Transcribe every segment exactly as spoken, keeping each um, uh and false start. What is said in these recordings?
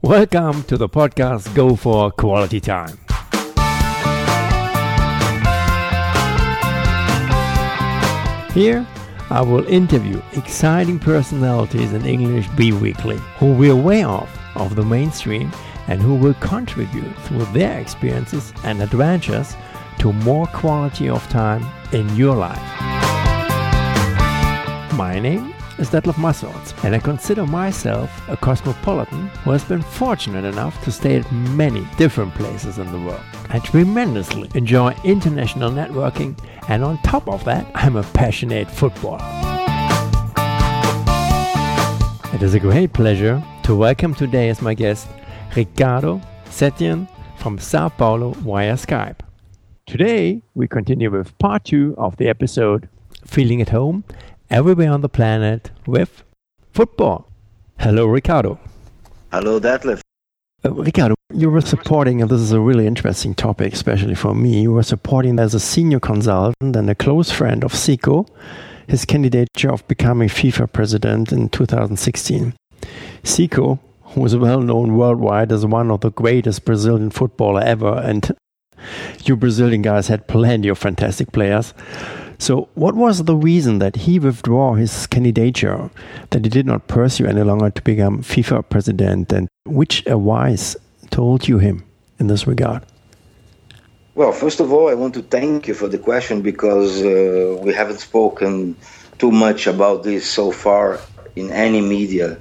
Welcome to the podcast Go for Quality Time. Here, I will interview exciting personalities in English B-Weekly who will way off of the mainstream and who will contribute through their experiences and adventures to more quality of time in your life. My name is Detlef Massorts, and I consider myself a cosmopolitan who has been fortunate enough to stay at many different places in the world. I tremendously enjoy international networking, and on top of that, I'm a passionate footballer. It is a great pleasure to welcome today as my guest Ricardo Setien from Sao Paulo via Skype. Today, we continue with part two of the episode Feeling at Home Everywhere on the Planet with football. Hello, Ricardo. Hello, Detlef. Uh, Ricardo, you were supporting, and this is a really interesting topic, especially for me, you were supporting as a senior consultant and a close friend of Zico, his candidature of becoming FIFA president in two thousand sixteen. Zico, who is well known worldwide as one of the greatest Brazilian footballer ever, and you Brazilian guys had plenty of fantastic players. So what was the reason that he withdrew his candidature, that he did not pursue any longer to become FIFA president, and which advice told you him in this regard? Well, first of all, I want to thank you for the question because uh, we haven't spoken too much about this so far in any media.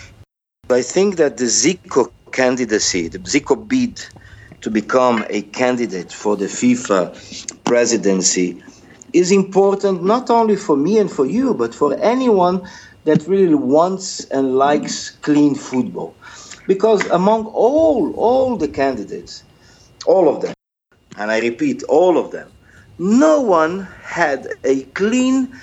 I think that the Zico candidacy, the Zico bid to become a candidate for the FIFA presidency is important not only for me and for you, but for anyone that really wants and likes clean football. Because among all, all the candidates, all of them, and I repeat, all of them, no one had a clean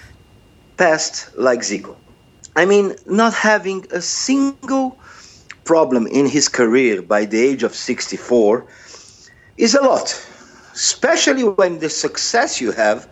past like Zico. I mean, not having a single problem in his career by the age of sixty-four is a lot, especially when the success you have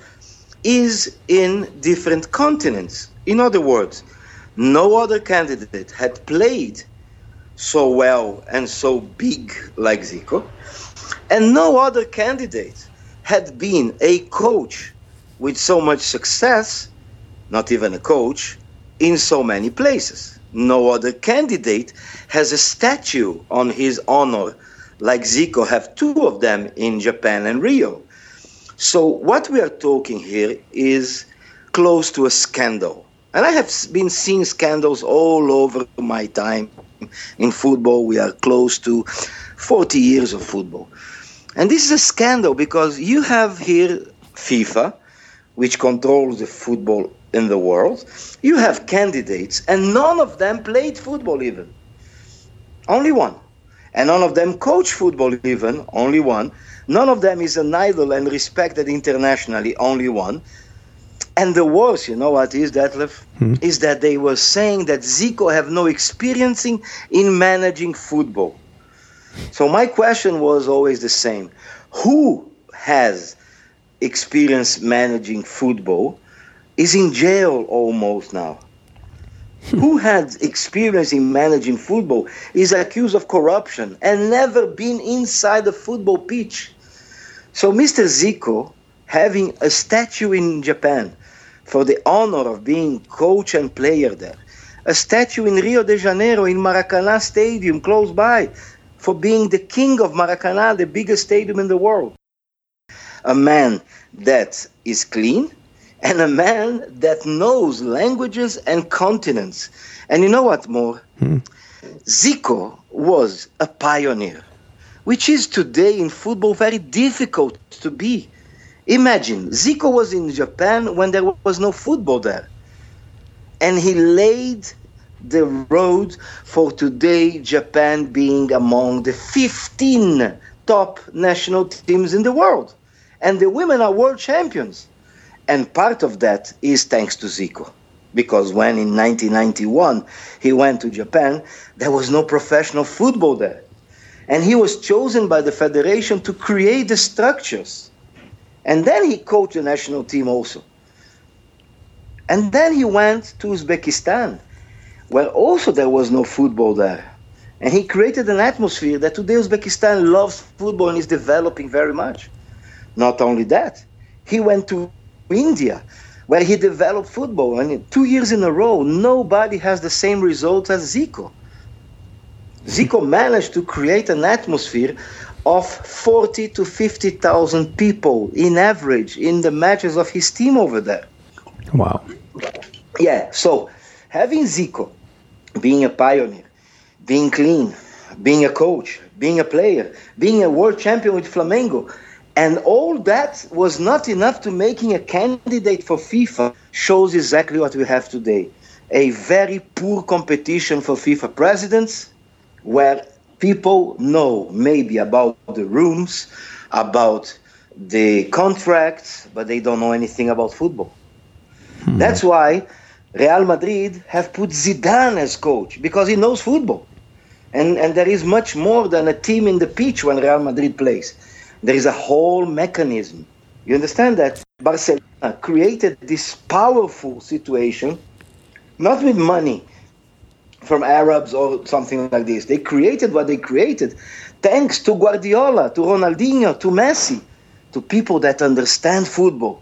is in different continents. In other words, no other candidate had played so well and so big like Zico, and no other candidate had been a coach with so much success, not even a coach, in so many places. No other candidate has a statue on his honor like Zico have two of them in Japan and Rio. So what we are talking here is close to a scandal. And I have been seeing scandals all over my time in football. We are close to forty years of football. And this is a scandal because you have here FIFA, which controls the football in the world. You have candidates, and none of them played football even. Only one. And none of them coach football even, only one. None of them is an idol and respected internationally, only one. And the worst, you know what is, Detlef? Hmm. Is that they were saying that Zico have no experience in, in managing football. So my question was always the same. Who has experience managing football is in jail almost now. Who had experience in managing football is accused of corruption and never been inside a football pitch. So Mister Zico, having a statue in Japan for the honor of being coach and player there, a statue in Rio de Janeiro in Maracanã Stadium close by for being the king of Maracanã, the biggest stadium in the world. A man that is clean, and a man that knows languages and continents. And you know what more? Hmm. Zico was a pioneer, which is today in football very difficult to be. Imagine, Zico was in Japan when there was no football there. And he laid the road for today Japan being among the fifteen top national teams in the world. And the women are world champions. And part of that is thanks to Zico. Because when in nineteen ninety-one he went to Japan, there was no professional football there. And he was chosen by the federation to create the structures. And then he coached the national team also. And then he went to Uzbekistan, where also there was no football there. And he created an atmosphere that today Uzbekistan loves football and is developing very much. Not only that, he went to India, where he developed football. And two years in a row, nobody has the same results as Zico. Zico managed to create an atmosphere of forty to fifty thousand people in average in the matches of his team over there. Wow. Yeah, so having Zico being a pioneer, being clean, being a coach, being a player, being a world champion with Flamengo, and all that was not enough to making a candidate for FIFA, shows exactly what we have today. A very poor competition for FIFA presidents, where people know maybe about the rooms, about the contracts, but they don't know anything about football. Hmm. That's why Real Madrid have put Zidane as coach, because he knows football. And, and there is much more than a team in the pitch when Real Madrid plays. There is a whole mechanism. You understand that? Barcelona created this powerful situation, not with money from Arabs or something like this. They created what they created thanks to Guardiola, to Ronaldinho, to Messi, to people that understand football.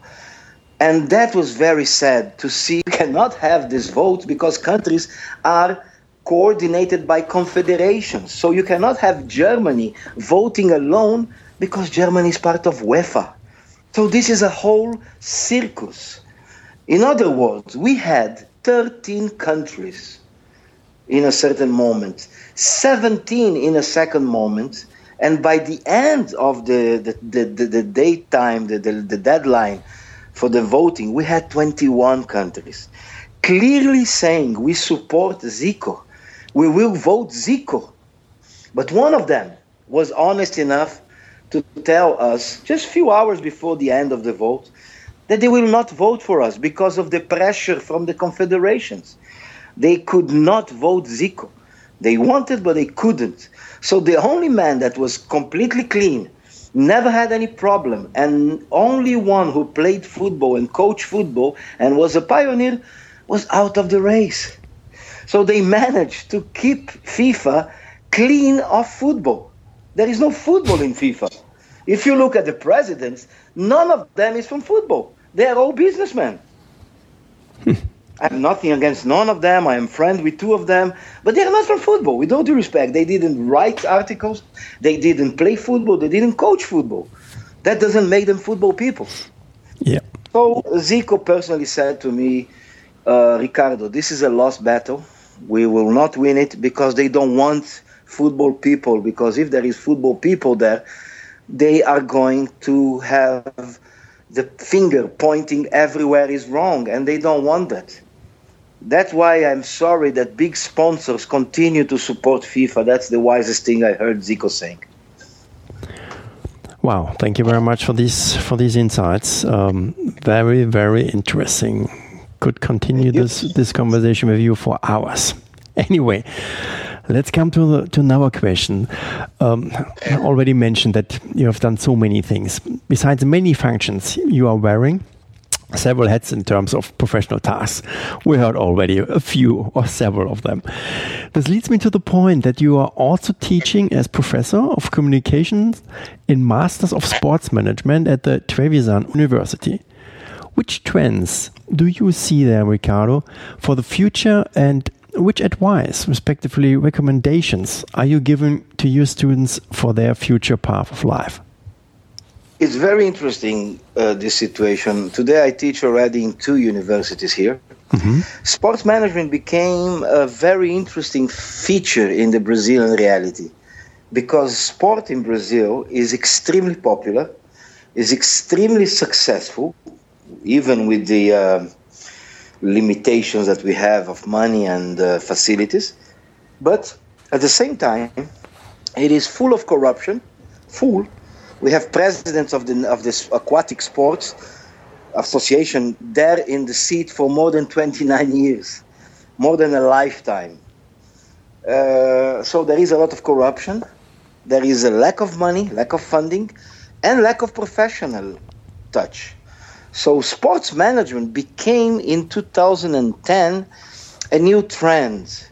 And that was very sad to see. We cannot have this vote because countries are coordinated by confederations. So you cannot have Germany voting alone because Germany is part of UEFA. So this is a whole circus. In other words, we had thirteen countries in a certain moment, seventeen in a second moment, and by the end of the, the, the, the, the date time, the, the, the deadline for the voting, we had twenty-one countries clearly saying we support Zico. We will vote Zico. But one of them was honest enough to tell us just a few hours before the end of the vote that they will not vote for us because of the pressure from the confederations. They could not vote Zico. They wanted, but they couldn't. So the only man that was completely clean, never had any problem, and only one who played football and coached football and was a pioneer was out of the race. So they managed to keep FIFA clean of football. There is no football in FIFA. If you look at the presidents, none of them is from football. They are all businessmen. I have nothing against none of them. I am friends with two of them. But they are not from football. With all due respect, they didn't write articles. They didn't play football. They didn't coach football. That doesn't make them football people. Yeah. So Zico personally said to me, uh, Ricardo, this is a lost battle. We will not win it because they don't want football people. Because if there is football people there, they are going to have the finger pointing everywhere is wrong, and they don't want that. That's why I'm sorry that big sponsors continue to support FIFA. That's the wisest thing I heard Zico saying. Wow, thank you very much for these for these insights. Um, very, very interesting. Could continue this this conversation with you for hours. Anyway, let's come to the, to another question. Um, I already mentioned that you have done so many things. Besides many functions you are wearing, several hats in terms of professional tasks. We heard already a few or several of them. This leads me to the point that you are also teaching as professor of communications in Masters of Sports Management at the Trevisan University. Which trends do you see there, Ricardo, for the future, and which advice, respectively recommendations, are you giving to your students for their future path of life? It's very interesting, uh, this situation. Today I teach already in two universities here. Mm-hmm. Sports management became a very interesting feature in the Brazilian reality because sport in Brazil is extremely popular, is extremely successful, even with the uh, limitations that we have of money and uh, facilities. But at the same time, it is full of corruption, full. We have presidents of the of this aquatic sports association there in the seat for more than twenty-nine years, more than a lifetime. Uh, so there is a lot of corruption. There is a lack of money, lack of funding, and lack of professional touch. So sports management became in two thousand ten a new trend.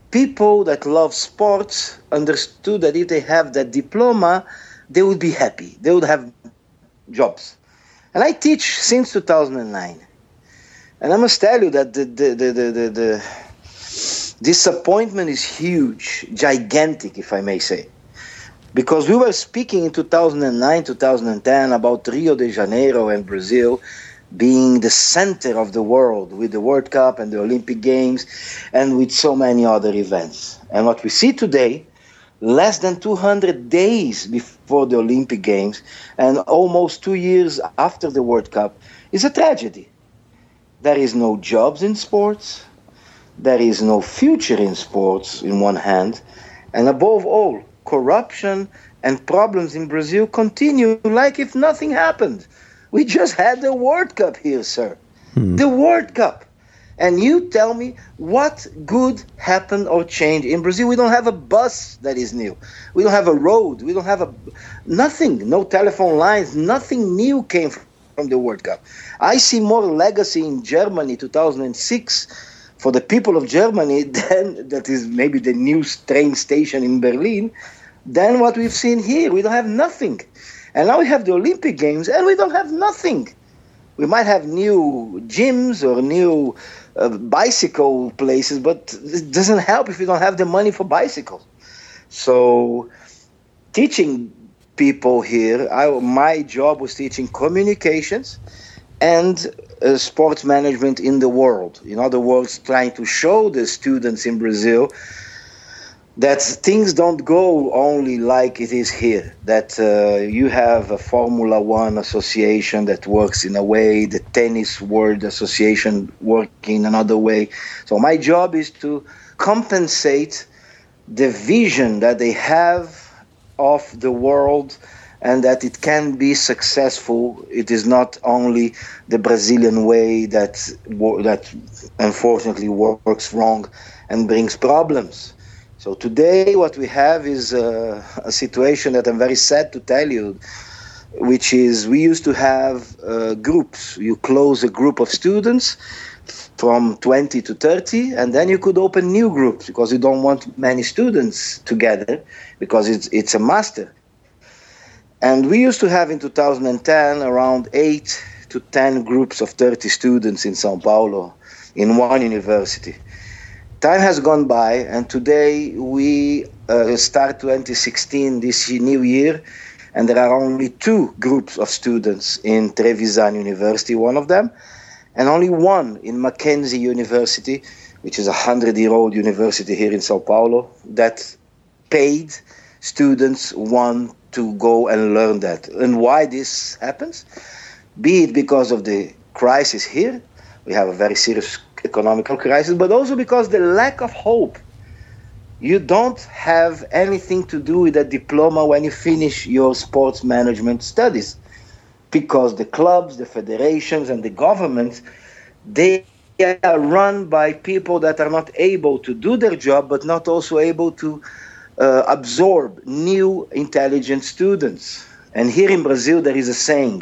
people that love sports understood that if they have that diploma, they would be happy. They would have jobs. And I teach since two thousand nine. And I must tell you that the, the, the, the, the, the disappointment is huge, gigantic, if I may say. Because we were speaking in two thousand nine, two thousand ten about Rio de Janeiro and Brazil being the center of the world with the World Cup and the Olympic Games and with so many other events. And what we see today, less than two hundred days before the Olympic Games and almost two years after the World Cup, is a tragedy. There is no jobs in sports, there is no future in sports in one hand, and above all, corruption and problems in Brazil continue like if nothing happened. We just had the World Cup here, sir. Hmm. The World Cup. And you tell me what good happened or changed in Brazil. We don't have a bus that is new. We don't have a road. We don't have a nothing. No telephone lines. Nothing new came from the World Cup. I see more legacy in Germany two thousand six for the people of Germany than that is maybe the new train station in Berlin than what we've seen here. We don't have nothing. And now we have the Olympic Games and we don't have nothing. We might have new gyms or new uh, bicycle places, but it doesn't help if we don't have the money for bicycles. So teaching people here, I, my job was teaching communications and uh, sports management in the world. In other words, trying to show the students in Brazil that things don't go only like it is here, that uh, you have a Formula One association that works in a way, the Tennis World Association working in another way. So my job is to compensate the vision that they have of the world and that it can be successful. It is not only the Brazilian way that that unfortunately works wrong and brings problems. So today what we have is a, a situation that I'm very sad to tell you, which is we used to have uh, groups. You close a group of students from twenty to thirty, and then you could open new groups because you don't want many students together because it's it's a master. And we used to have in two thousand ten around eight to ten groups of thirty students in São Paulo in one university. Time has gone by, and today we uh, start twenty sixteen, this new year, and there are only two groups of students in Trevisan University, one of them, and only one in Mackenzie University, which is a hundred-year-old university here in São Paulo, that paid students want to go and learn that. And why this happens? Be it because of the crisis here, we have a very serious economical crisis, but also because the lack of hope. You don't have anything to do with a diploma when you finish your sports management studies, because the clubs, the federations, and the government, they are run by people that are not able to do their job, but not also able to uh, absorb new intelligent students. And here in Brazil, there is a saying,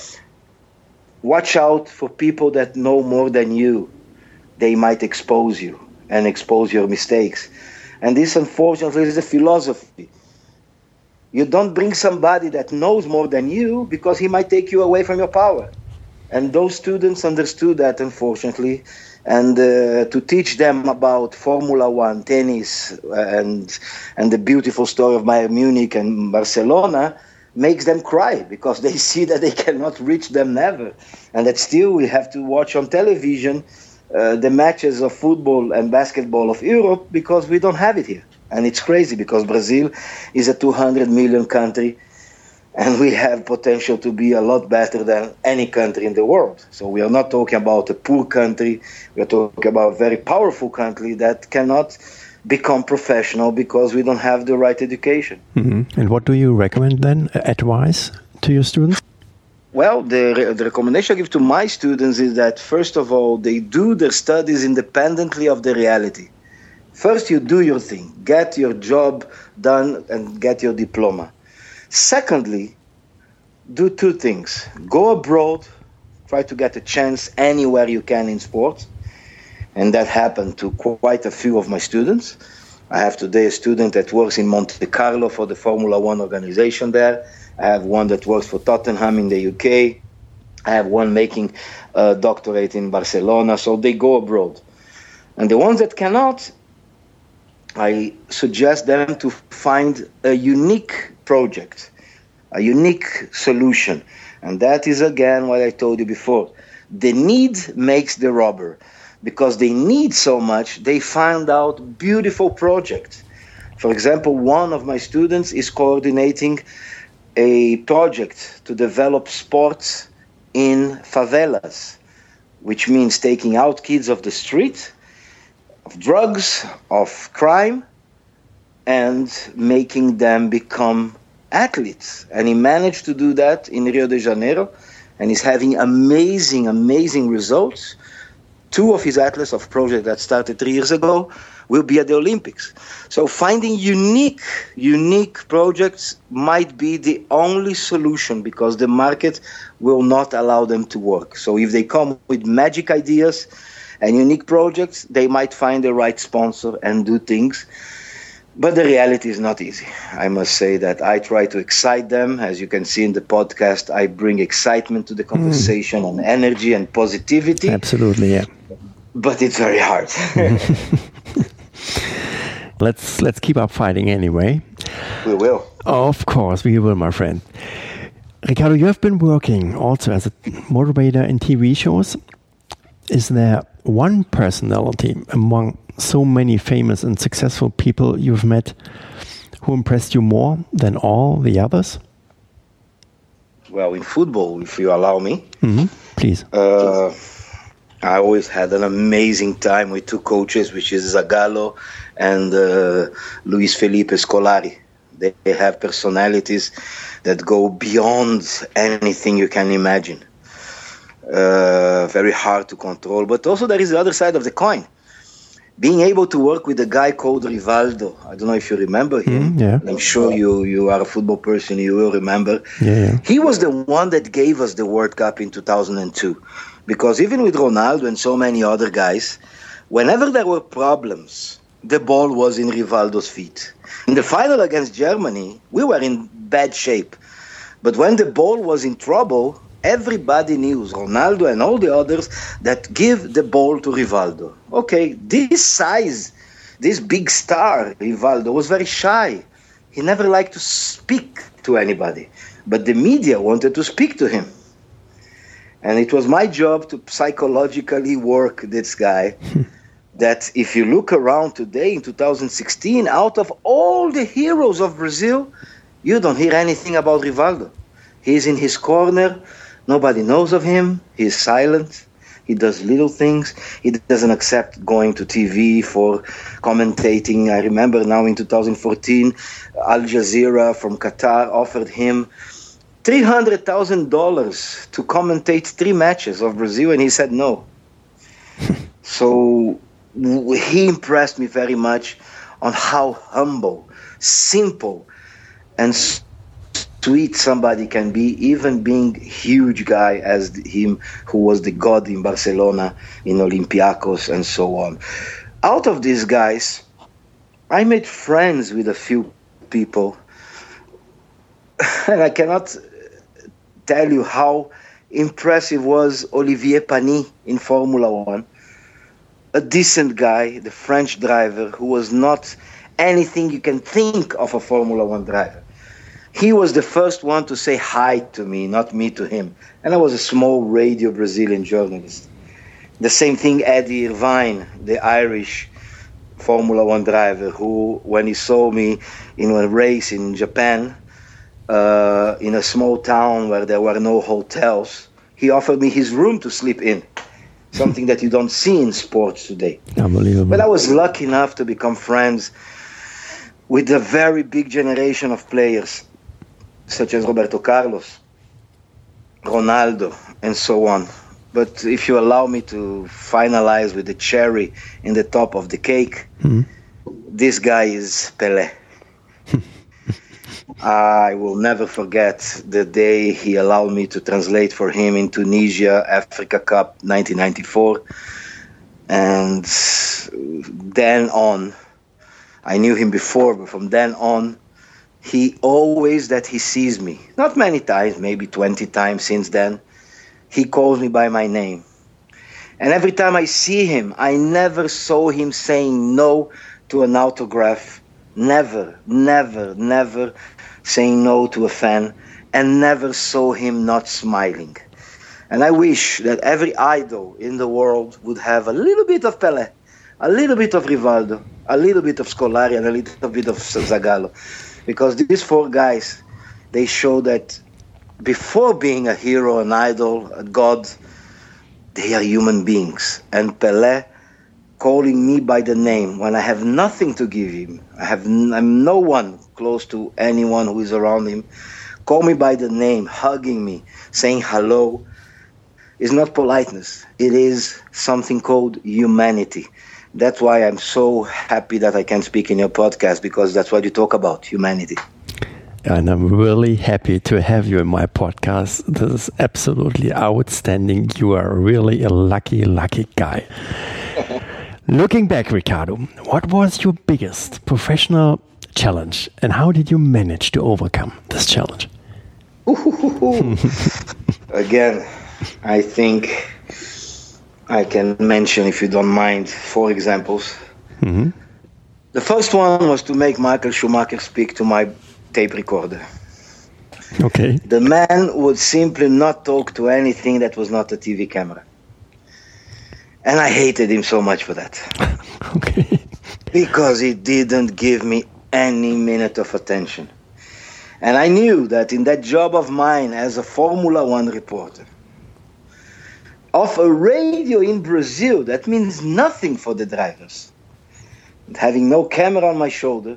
watch out for people that know more than you. They might expose you and expose your mistakes. And this, unfortunately, is a philosophy. You don't bring somebody that knows more than you because he might take you away from your power. And those students understood that, unfortunately. And uh, to teach them about Formula One, tennis, and and the beautiful story of Bayern Munich and Barcelona makes them cry because they see that they cannot reach them never. And that still we have to watch on television Uh, the matches of football and basketball of Europe because we don't have it here. And it's crazy because Brazil is a two hundred million country and we have potential to be a lot better than any country in the world. So we are not talking about a poor country, we are talking about a very powerful country that cannot become professional because we don't have the right education. Mm-hmm. And what do you recommend then, advice to your students? Well, the, the recommendation I give to my students is that, first of all, they do their studies independently of the reality. First, you do your thing. Get your job done and get your diploma. Secondly, do two things. Go abroad. Try to get a chance anywhere you can in sports. And that happened to quite a few of my students. I have today a student that works in Monte Carlo for the Formula One organization there. I have one that works for Tottenham in the U K. I have one making a doctorate in Barcelona. So they go abroad. And the ones that cannot, I suggest them to find a unique project, a unique solution. And that is, again, what I told you before. The need makes the robber. Because they need so much, they find out beautiful projects. For example, one of my students is coordinating a project to develop sports in favelas, which means taking out kids off the street, of drugs, of crime, and making them become athletes. And he managed to do that in Rio de Janeiro, and he's having amazing, amazing results. Two of his athletes of project that started three years ago will be at the Olympics. So finding unique, unique projects might be the only solution because the market will not allow them to work. So if they come with magic ideas and unique projects, they might find the right sponsor and do things. But the reality is not easy. I must say that I try to excite them. As you can see in the podcast, I bring excitement to the conversation mm. and energy and positivity. Absolutely, yeah. But it's very hard. let's let's keep up fighting anyway. We will. Of course, we will, my friend. Ricardo, you have been working also as a motivator in T V shows. Is there one personality among so many famous and successful people you've met who impressed you more than all the others? Well, in football, if you allow me. Mm-hmm. Please. Uh, I always had an amazing time with two coaches, which is Zagallo and uh, Luis Felipe Scolari. They have personalities that go beyond anything you can imagine. Uh, very hard to control. But also there is the other side of the coin. Being able to work with a guy called Rivaldo. I don't know if you remember him. Mm, yeah. I'm sure you, you are a football person, you will remember. Yeah, yeah. He was the one that gave us the World Cup in two thousand two. Because even with Ronaldo and so many other guys, whenever there were problems, the ball was in Rivaldo's feet. In the final against Germany, we were in bad shape. But when the ball was in trouble, everybody knew, Ronaldo and all the others, that give the ball to Rivaldo. Okay, this size, this big star, Rivaldo, was very shy. He never liked to speak to anybody. But the media wanted to speak to him. And it was my job to psychologically work this guy. That if you look around today in two thousand sixteen, out of all the heroes of Brazil, you don't hear anything about Rivaldo. He's in his corner. Nobody knows of him. He's silent. He does little things. He doesn't accept going to T V for commentating. I remember now in two thousand fourteen, Al Jazeera from Qatar offered him three hundred thousand dollars to commentate three matches of Brazil, and he said no. So he impressed me very much on how humble, simple, and sweet somebody can be, even being huge guy as him, who was the god in Barcelona, in Olympiacos, and so on. Out of these guys, I made friends with a few people, and I cannot tell you how impressive was Olivier Panis in Formula One. A decent guy, the French driver, who was not anything you can think of a Formula One driver. He was the first one to say hi to me, not me to him. And I was a small radio Brazilian journalist. The same thing, Eddie Irvine, the Irish Formula One driver, who, when he saw me in a race in Japan, uh, in a small town where there were no hotels, he offered me his room to sleep in. Something that you don't see in sports today. Unbelievable. But I was lucky enough to become friends with a very big generation of players, such as Roberto Carlos, Ronaldo, and so on. But if you allow me to finalize with the cherry in the top of the cake, mm-hmm. This guy is Pelé. I will never forget the day he allowed me to translate for him in Tunisia, Africa Cup nineteen ninety-four. And then on, I knew him before, but from then on, he always that he sees me, not many times, maybe twenty times since then, he calls me by my name. And every time I see him, I never saw him saying no to an autograph. Never, never, never saying no to a fan, and never saw him not smiling. And I wish that every idol in the world would have a little bit of Pelé, a little bit of Rivaldo, a little bit of Scolari, and a little bit of Zagallo. Because these four guys, they show that before being a hero, an idol, a god, they are human beings. And Pelé calling me by the name when I have nothing to give him, I have n- I'm no one close to anyone who is around him, call me by the name, hugging me, saying hello, is not politeness. It is something called humanity. That's why I'm so happy that I can speak in your podcast, because that's what you talk about, humanity. And I'm really happy to have you in my podcast. This is absolutely outstanding. You are really a lucky, lucky guy. Looking back, Ricardo, what was your biggest professional challenge and how did you manage to overcome this challenge? Again, I think I can mention, if you don't mind, four examples. Mm-hmm. The first one was to make Michael Schumacher speak to my tape recorder. Okay. The man would simply not talk to anything that was not a T V camera. And I hated him so much for that. Okay. Because he didn't give me any minute of attention. And I knew that in that job of mine as a Formula One reporter, of a radio in Brazil, that means nothing for the drivers. And having no camera on my shoulder,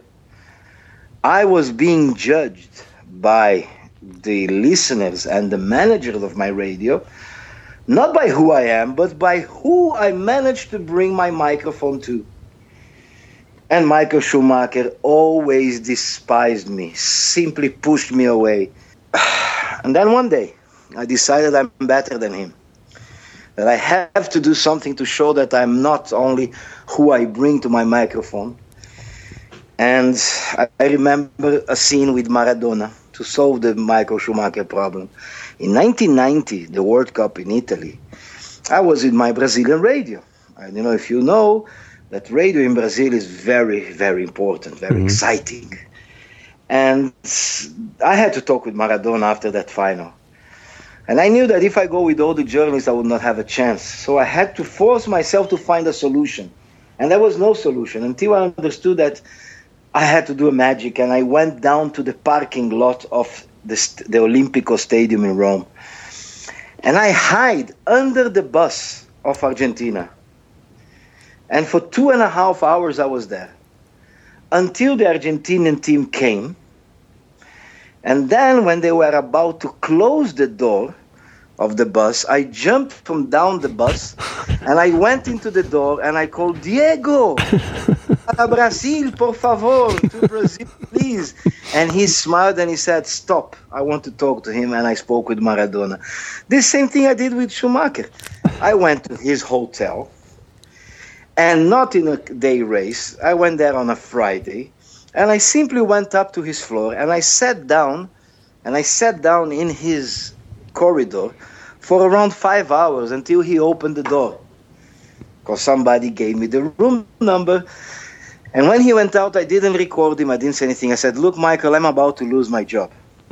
I was being judged by the listeners and the managers of my radio, not by who I am, but by who I managed to bring my microphone to. And Michael Schumacher always despised me, simply pushed me away. And then one day, I decided I'm better than him. That I have to do something to show that I'm not only who I bring to my microphone. And I, I remember a scene with Maradona to solve the Michael Schumacher problem. In nineteen ninety, the World Cup in Italy, I was with my Brazilian radio. I don't know if you know that radio in Brazil is very, very important, very mm-hmm. exciting. And I had to talk with Maradona after that final. And I knew that if I go with all the journalists, I would not have a chance. So I had to force myself to find a solution. And there was no solution until I understood that I had to do a magic. And I went down to the parking lot of the, the Olimpico Stadium in Rome. And I hid under the bus of Argentina. And for two and a half hours I was there. Until the Argentinian team came. And then when they were about to close the door of the bus, I jumped from down the bus and I went into the door and I called, Diego, para Brasil, por favor, to Brazil, please. And he smiled and he said, stop, I want to talk to him. And I spoke with Maradona. The same thing I did with Schumacher. I went to his hotel and not in a day race. I went there on a Friday. And I simply went up to his floor and I sat down and I sat down in his corridor for around five hours until he opened the door. Because somebody gave me the room number. And when he went out, I didn't record him. I didn't say anything. I said, look, Michael, I'm about to lose my job.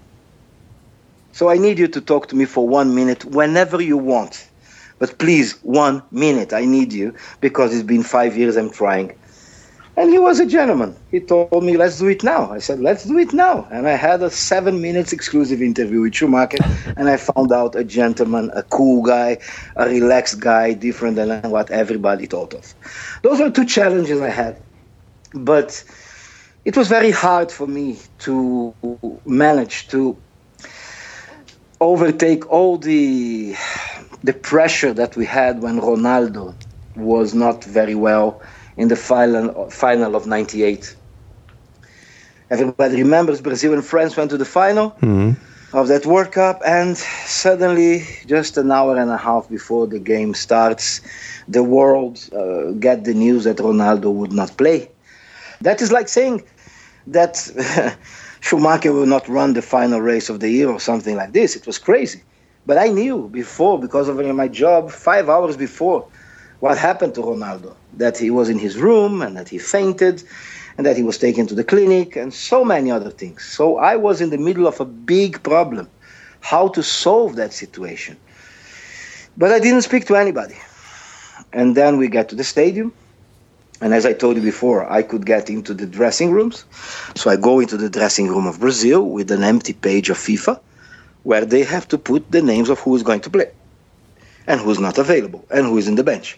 So I need you to talk to me for one minute whenever you want. But please, one minute. I need you because it's been five years I'm trying. And he was a gentleman. He told me, let's do it now. I said, let's do it now. And I had a seven minutes exclusive interview with Schumacher. And I found out a gentleman, a cool guy, a relaxed guy, different than what everybody thought of. Those are two challenges I had. But it was very hard for me to manage to overtake all the, the pressure that we had when Ronaldo was not very well in the final final of ninety-eight. Everybody remembers Brazil and France went to the final. Mm-hmm. of that World Cup, and suddenly, just an hour and a half before the game starts, the world uh, get the news that Ronaldo would not play. That is like saying that Schumacher will not run the final race of the year or something like this. It was crazy. But I knew before, because of my job, five hours before, what happened to Ronaldo. That he was in his room and that he fainted and that he was taken to the clinic and so many other things. So I was in the middle of a big problem, how to solve that situation. But I didn't speak to anybody. And then we get to the stadium. And as I told you before, I could get into the dressing rooms. So I go into the dressing room of Brazil with an empty page of FIFA, where they have to put the names of who is going to play and who's not available and who is in the bench.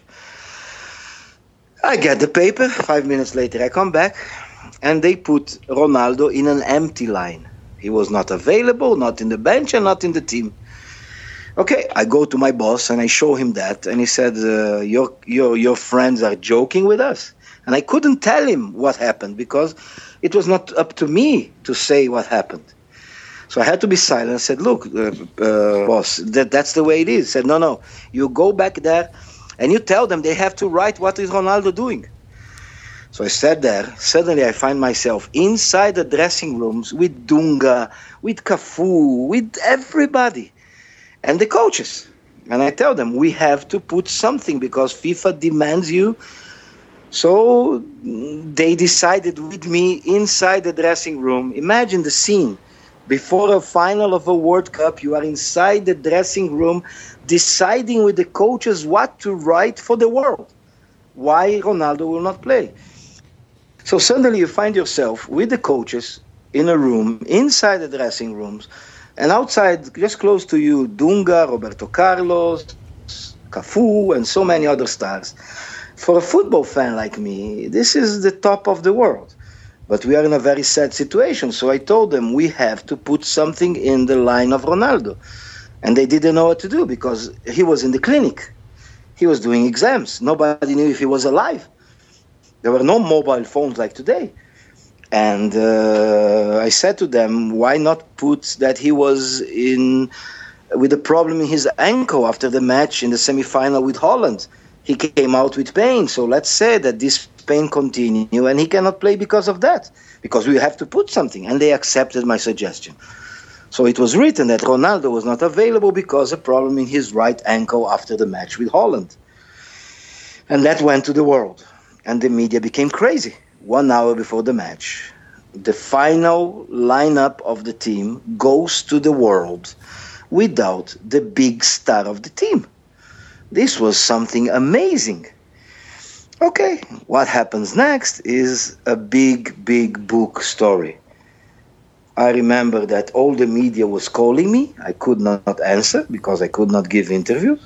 I get the paper. Five minutes later, I come back, and they put Ronaldo in an empty line. He was not available, not in the bench, and not in the team. Okay, I go to my boss, and I show him that, and he said, uh, your, your, your friends are joking with us. And I couldn't tell him what happened, because it was not up to me to say what happened. So I had to be silent. I said, look, uh, uh, boss, that, that's the way it is. He said, no, no, you go back there, and you tell them they have to write what is Ronaldo doing. So I sat there. Suddenly I find myself inside the dressing rooms with Dunga, with Cafu, with everybody, and the coaches. And I tell them, we have to put something because FIFA demands you. So they decided with me inside the dressing room. Imagine the scene. Before a final of a World Cup, you are inside the dressing room deciding with the coaches what to write for the world, why Ronaldo will not play. So suddenly you find yourself with the coaches in a room, inside the dressing rooms, and outside, just close to you, Dunga, Roberto Carlos, Cafu, and so many other stars. For a football fan like me, this is the top of the world. But we are in a very sad situation. So I told them we have to put something in the line of Ronaldo. And they didn't know what to do because he was in the clinic. He was doing exams. Nobody knew if he was alive. There were no mobile phones like today. And uh, I said to them, why not put that he was in with a problem in his ankle after the match in the semifinal with Holland? He came out with pain. So let's say that this pain continue and he cannot play because of that, because we have to put something. And they accepted my suggestion. So it was written that Ronaldo was not available because of a problem in his right ankle after the match with Holland. And that went to the world. And the media became crazy. One hour before the match, the final lineup of the team goes to the world without the big star of the team. This was something amazing. Okay, what happens next is a big, big book story. I remember that all the media was calling me. I could not answer because I could not give interviews.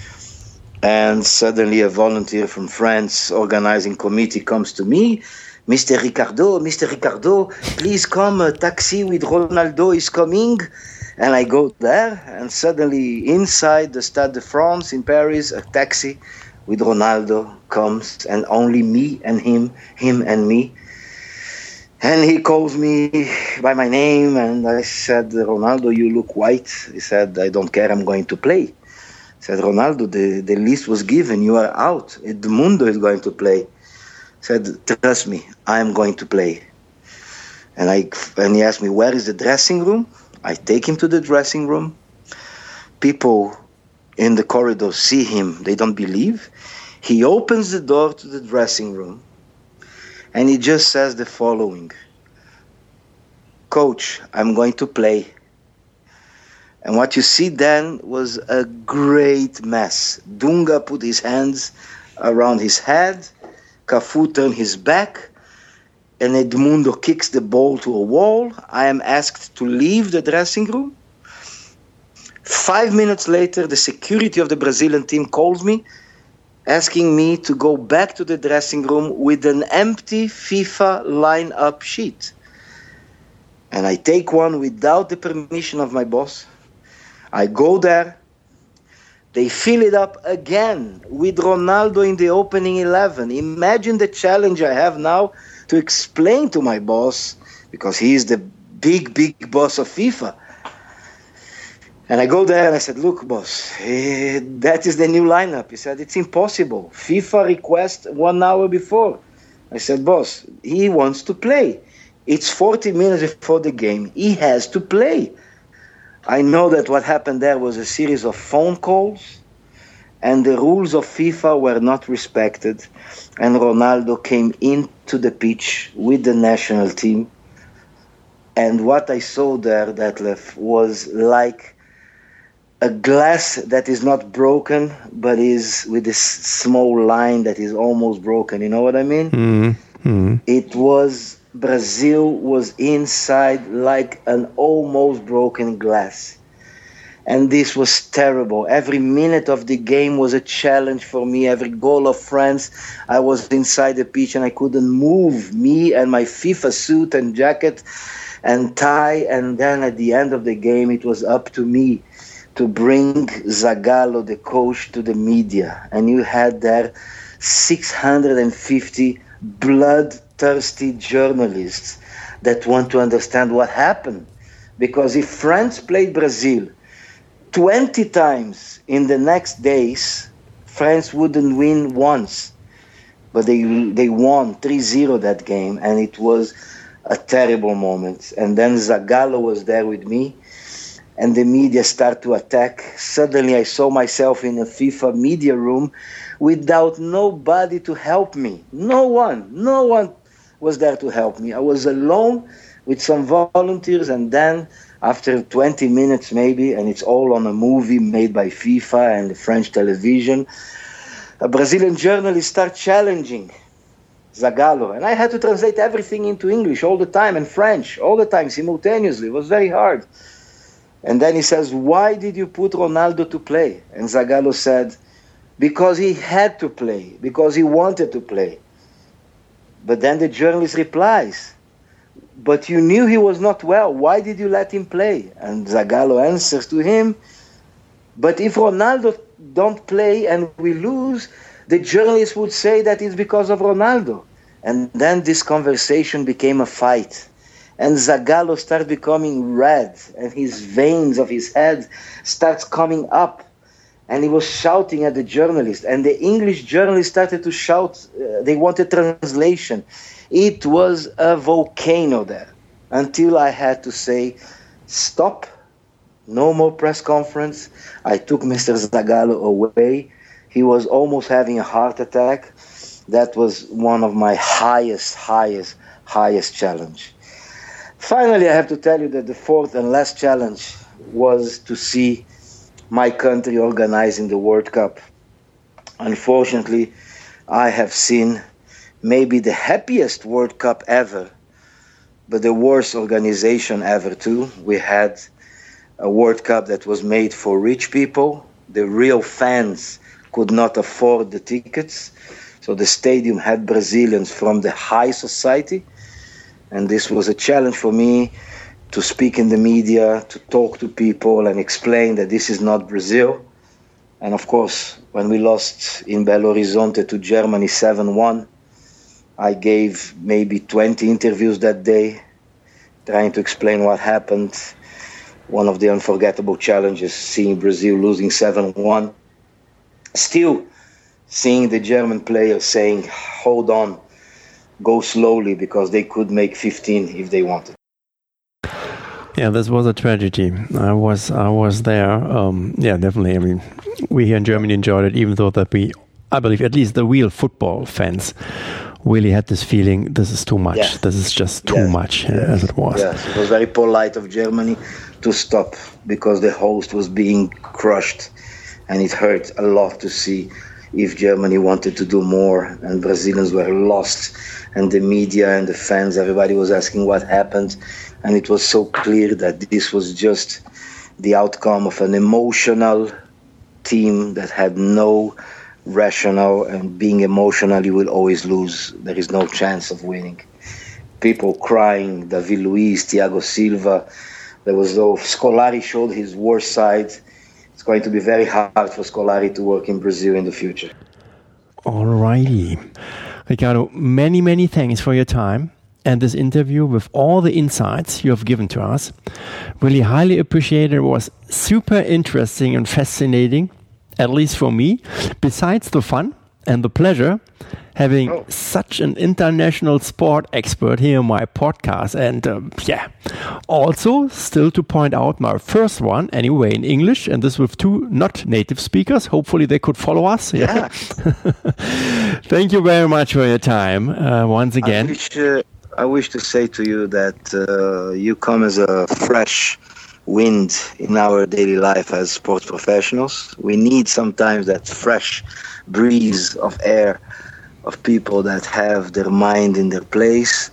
And suddenly a volunteer from France organizing committee comes to me. Mister Ricardo, Mister Ricardo, please come, a taxi with Ronaldo is coming. And I go there, and suddenly inside the Stade de France in Paris, a taxi with Ronaldo comes, and only me and him, him and me. And he calls me by my name, and I said, Ronaldo, you look white. He said, I don't care, I'm going to play. I said, Ronaldo, the, the list was given, you are out. Edmundo is going to play. I said, trust me, I am going to play. And I and he asked me, where is the dressing room? I take him to the dressing room. People in the corridor see him, they don't believe. He opens the door to the dressing room, and he just says the following, Coach, I'm going to play. And what you see then was a great mess. Dunga put his hands around his head, Cafu turned his back, and Edmundo kicks the ball to a wall. I am asked to leave the dressing room. Five minutes later, the security of the Brazilian team calls me, asking me to go back to the dressing room with an empty FIFA lineup sheet. And I take one without the permission of my boss. I go there. They fill it up again with Ronaldo in the opening eleven. Imagine the challenge I have now to explain to my boss, because he is the big, big boss of FIFA, And I go there and I said, look, boss, eh, that is the new lineup. He said, it's impossible. FIFA request one hour before. I said, boss, he wants to play. It's forty minutes before the game. He has to play. I know that what happened there was a series of phone calls, and the rules of FIFA were not respected. And Ronaldo came into the pitch with the national team. And what I saw there, Detlef, was like a glass that is not broken, but is with this small line that is almost broken. You know what I mean? Mm-hmm. It was, Brazil was inside like an almost broken glass. And this was terrible. Every minute of the game was a challenge for me. Every goal of France, I was inside the pitch and I couldn't move. Me and my FIFA suit and jacket and tie. And then at the end of the game, it was up to me to bring Zagallo, the coach, to the media. And you had there six hundred fifty bloodthirsty journalists that want to understand what happened. Because if France played Brazil twenty times in the next days, France wouldn't win once. But they they won three zero that game, and it was a terrible moment. And then Zagallo was there with me, and the media started to attack. Suddenly I saw myself in a FIFA media room without nobody to help me. No one, no one was there to help me. I was alone with some volunteers, and then after twenty minutes maybe, and it's all on a movie made by FIFA and the French television, a Brazilian journalist started challenging Zagallo, and I had to translate everything into English all the time and French all the time simultaneously. It was very hard. And then he says, why did you put Ronaldo to play? And Zagallo said, because he had to play, because he wanted to play. But then the journalist replies, but you knew he was not well. Why did you let him play? And Zagallo answers to him, but if Ronaldo don't play and we lose, the journalist would say that it's because of Ronaldo. And then this conversation became a fight. And Zagallo started becoming red, and his veins of his head starts coming up. And he was shouting at the journalist. And the English journalist started to shout. Uh, they wanted translation. It was a volcano there. Until I had to say, stop. No more press conference. I took Mister Zagallo away. He was almost having a heart attack. That was one of my highest, highest, highest challenge. Finally, I have to tell you that the fourth and last challenge was to see my country organizing the World Cup. Unfortunately, I have seen maybe the happiest World Cup ever, but the worst organization ever too. We had a World Cup that was made for rich people. The real fans could not afford the tickets. So the stadium had Brazilians from the high society. And this was a challenge for me to speak in the media, to talk to people and explain that this is not Brazil. And of course, when we lost in Belo Horizonte to Germany seven one, I gave maybe twenty interviews that day, trying to explain what happened. One of the unforgettable challenges, seeing Brazil losing seven one. Still seeing the German players saying, hold on, go slowly, because they could make fifteen if they wanted. Yeah, this was a tragedy. I was I was there. Um, yeah, definitely. I mean, we here in Germany enjoyed it, even though that we, I believe, at least the real football fans really had this feeling, this is too much. Yes. This is just too yes. much, yes. as it was. Yes, it was very polite of Germany to stop, because the host was being crushed, and it hurt a lot to see if Germany wanted to do more, and Brazilians were lost, and the media and the fans, everybody was asking what happened, and it was so clear that this was just the outcome of an emotional team that had no rationale, and being emotional, you will always lose. There is no chance of winning. People crying, David Luiz, Thiago Silva, there was though Scolari showed his worst side. It's going to be very hard for Scolari to work in Brazil in the future. Alrighty. Ricardo, many, many thanks for your time. and this interview with all the insights you have given to us. Really highly appreciated. It was super interesting and fascinating, at least for me. Besides the fun and the pleasure, having oh. such an international sport expert here on my podcast. And um, yeah, also still to point out my first one, anyway, in English, and this with two not native speakers. Hopefully they could follow us. Yeah. Thank you very much for your time uh, once again. I wish, uh, I wish to say to you that uh, you come as a fresh wind in our daily life as sports professionals. We need sometimes that fresh breeze of air of people that have their mind in their place.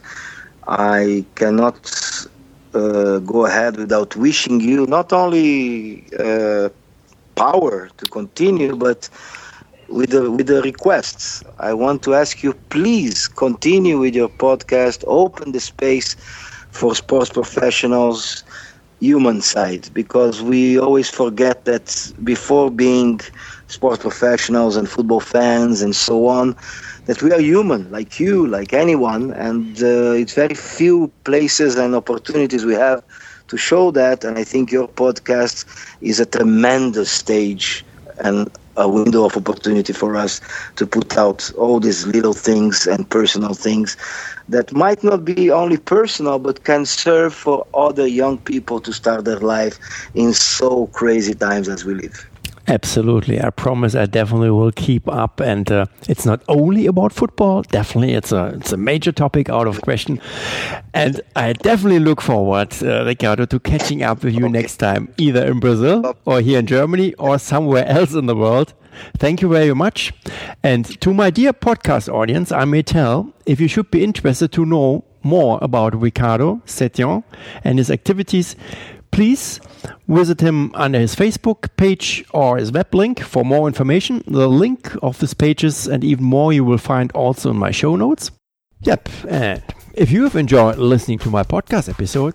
I cannot uh, go ahead without wishing you not only uh, power to continue, but with the with the requests. I want to ask you, please continue with your podcast, open the space for sports professionals, human side, because we always forget that before being sports professionals and football fans and so on, that we are human, like you, like anyone, and uh, it's very few places and opportunities we have to show that, and I think your podcast is a tremendous stage and a window of opportunity for us to put out all these little things and personal things that might not be only personal, but can serve for other young people to start their life in so crazy times as we live. Absolutely. I promise I definitely will keep up. And uh, it's not only about football. Definitely, it's a it's a major topic, out of question. And I definitely look forward, uh, Ricardo, to catching up with you okay. next time, either in Brazil or here in Germany or somewhere else in the world. Thank you very much. And to my dear podcast audience, I may tell, if you should be interested to know more about Ricardo Setien and his activities, please visit him under his Facebook page or his web link for more information. The link of these pages and even more you will find also in my show notes. Yep, and if you have enjoyed listening to my podcast episode,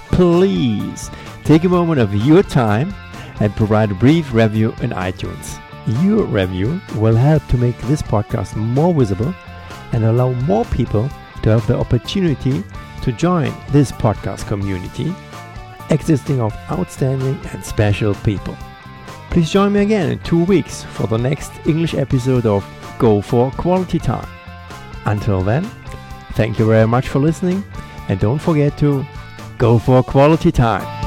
please take a moment of your time and provide a brief review in iTunes. Your review will help to make this podcast more visible and allow more people to have the opportunity to join this podcast community existing of outstanding and special people. Please join me again in two weeks for the next English episode of Go for Quality Time. Until then, thank you very much for listening, and don't forget to go for quality time.